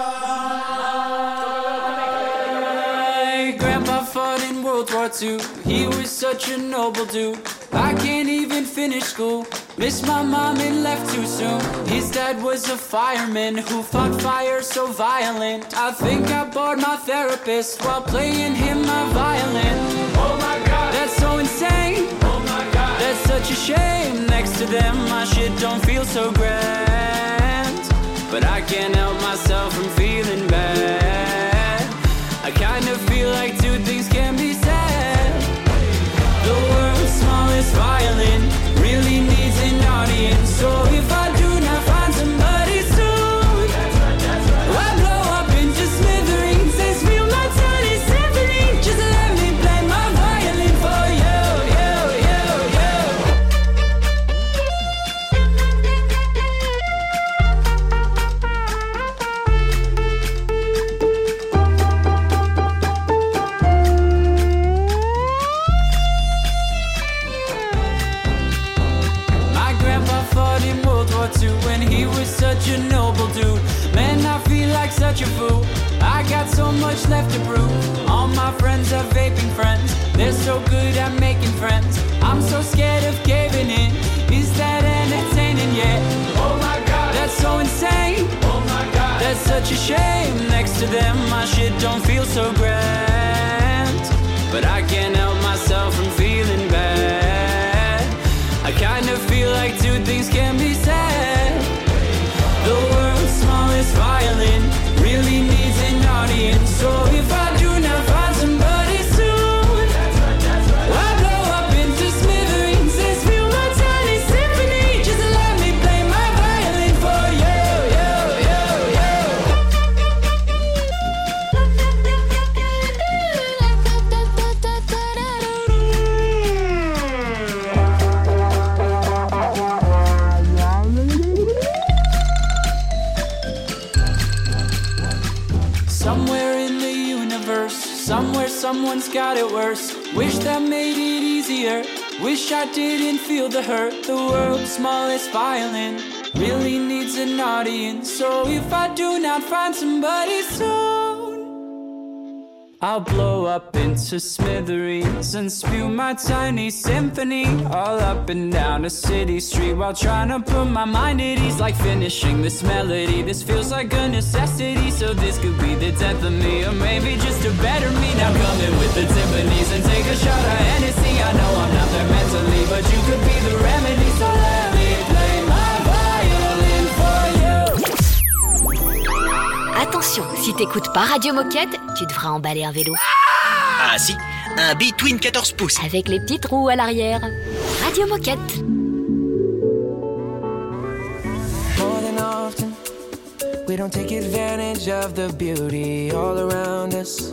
Grandpa fought in World War II. He was such a noble dude. I can't even finish school. Missed my mom and left too soon. His dad was a fireman who fought fire so violent. I think I bored my therapist while playing him my violin. Oh my God, that's so insane. Oh my God, that's such a shame. Next to them, my shit don't feel so grand. But I can't help myself from feeling bad. I kind of feel like two things can be said. The world's smallest violin really needs an audience. So if I do not find somebody soon, I blow up into smithereens and spill my tiny symphony. Just let me play my violin for you, you, you, you. When he was such a noble dude, man, I feel like such a fool. I got so much left to prove. All my friends are vaping friends. They're so good at making friends. I'm so scared of caving in. Is that entertaining yet? Oh my God, that's so insane. Oh my God, that's such a shame. Next to them, my shit don't feel so grand. But I can't help myself from feeling bad. I kind of feel like two things can be said. The world's smallest violin really needs an audience. So if I do not find somebody soon, I blow up into smithereens and spill my tiny symphony. Just let me play my violin for you, you, you, Somewhere in the universe, somewhere someone's got it worse. Wish that made it easier. Wish I didn't feel the hurt. The world's smallest violin really needs an audience. So if I do not find somebody soon, I'll blow up into smithereens and spew my tiny symphony all up and down a city street while trying to put my mind at ease. Like finishing this melody, this feels like a necessity. So this could be the death of me, or maybe just a better me. Now come in with the timpanis and take a shot of Hennessy. I know I'm not there mentally, but you could be the remedy. So let me play my violin for you. Attention, si t'écoutes pas Radio Moquette, tu devras emballer un vélo. Ah si, un B-Twin 14 pouces. Avec les petites roues à l'arrière. Radio Moquette. More than often, we don't take advantage of the beauty all around us.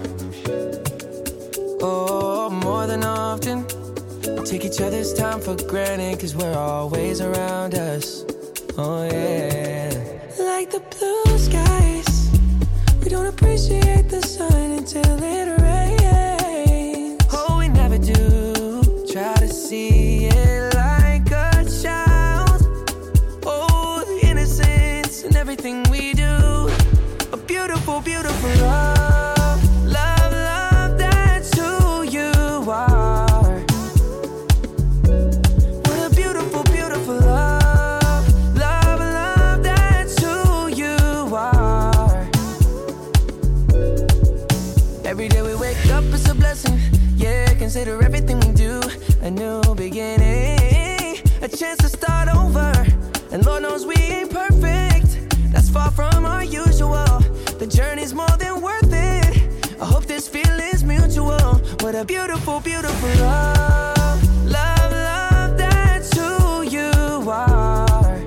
Oh, more than often, we take each other's time for granted, 'cause we're always around us. Oh yeah. Like the blue skies, we don't appreciate the sun until it rains. Oh, we never do try to see it like a child. Oh, the innocence in everything we do. A beautiful, beautiful love. Love, love, that's who you are. consider everything we do a new beginning, a chance to start over. And Lord knows we ain't perfect, that's far from our usual. The journey's more than worth it, I hope this feeling's mutual. What a beautiful, beautiful love. Love, love, that's who you are.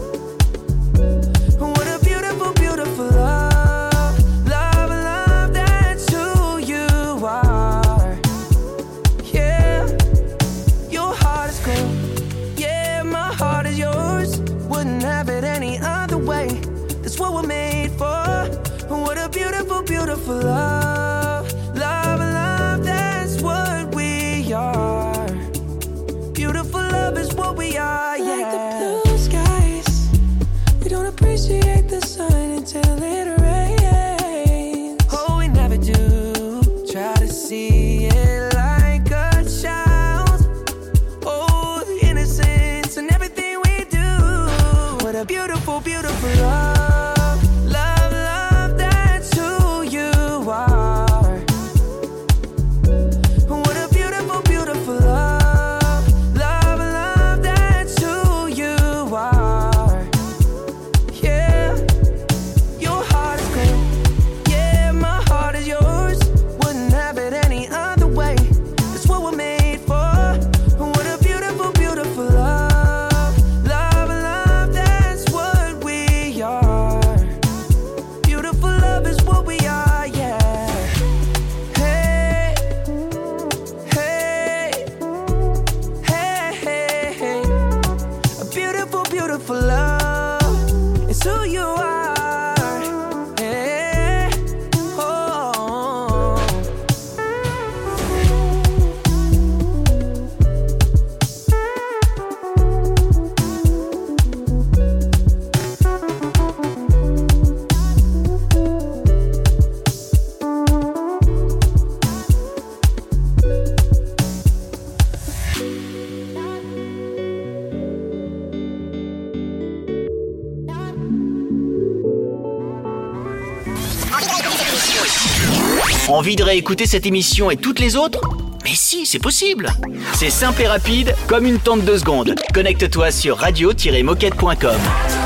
What a beautiful, beautiful love. Love, love, that's who you are. Yeah, your heart is cool. Yeah, my heart is yours. Wouldn't have it any other way. That's what we're made for. What a beautiful, beautiful love. Love, love, that's what we are. Beautiful love is what we are, yeah. Like the blue skies, we don't appreciate the sun until it rains. Oh, we never do. Try to see it like a child. Oh, the innocence and everything we do. What a beautiful, beautiful love. Love, love, that's who you are. What a beautiful, beautiful love. Love, love, that's who you are. Yeah, your heart is cool. Yeah, my heart is yours. Wouldn't have it any other way. That's what we're made for. What a beautiful, beautiful love. Love, love, that's what we are. Beautiful love is what we are, yeah. Hey, hey, hey, hey, hey. A beautiful, beautiful love is who you are. Hey, oh. Envie de réécouter cette émission et toutes les autres? Mais si, c'est possible. C'est simple et rapide, comme une tente de secondes. Connecte-toi sur radio-moquette.com.